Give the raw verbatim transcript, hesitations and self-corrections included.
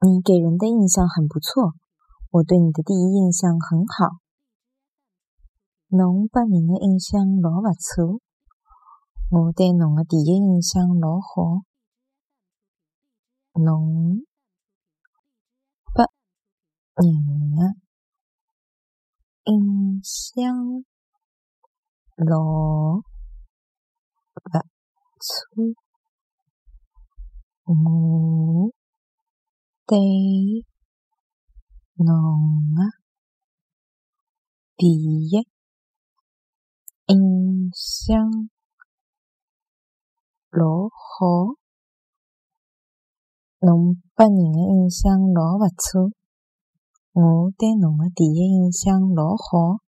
你给人的印象很不错，我对你的第一印象很好。侬拨人的印象老不错，我对侬的第一印象老好。侬拨人的印象老不错，我对侬的第一印象老好。侬拨人的印象老不错，我对侬的第一印象老好。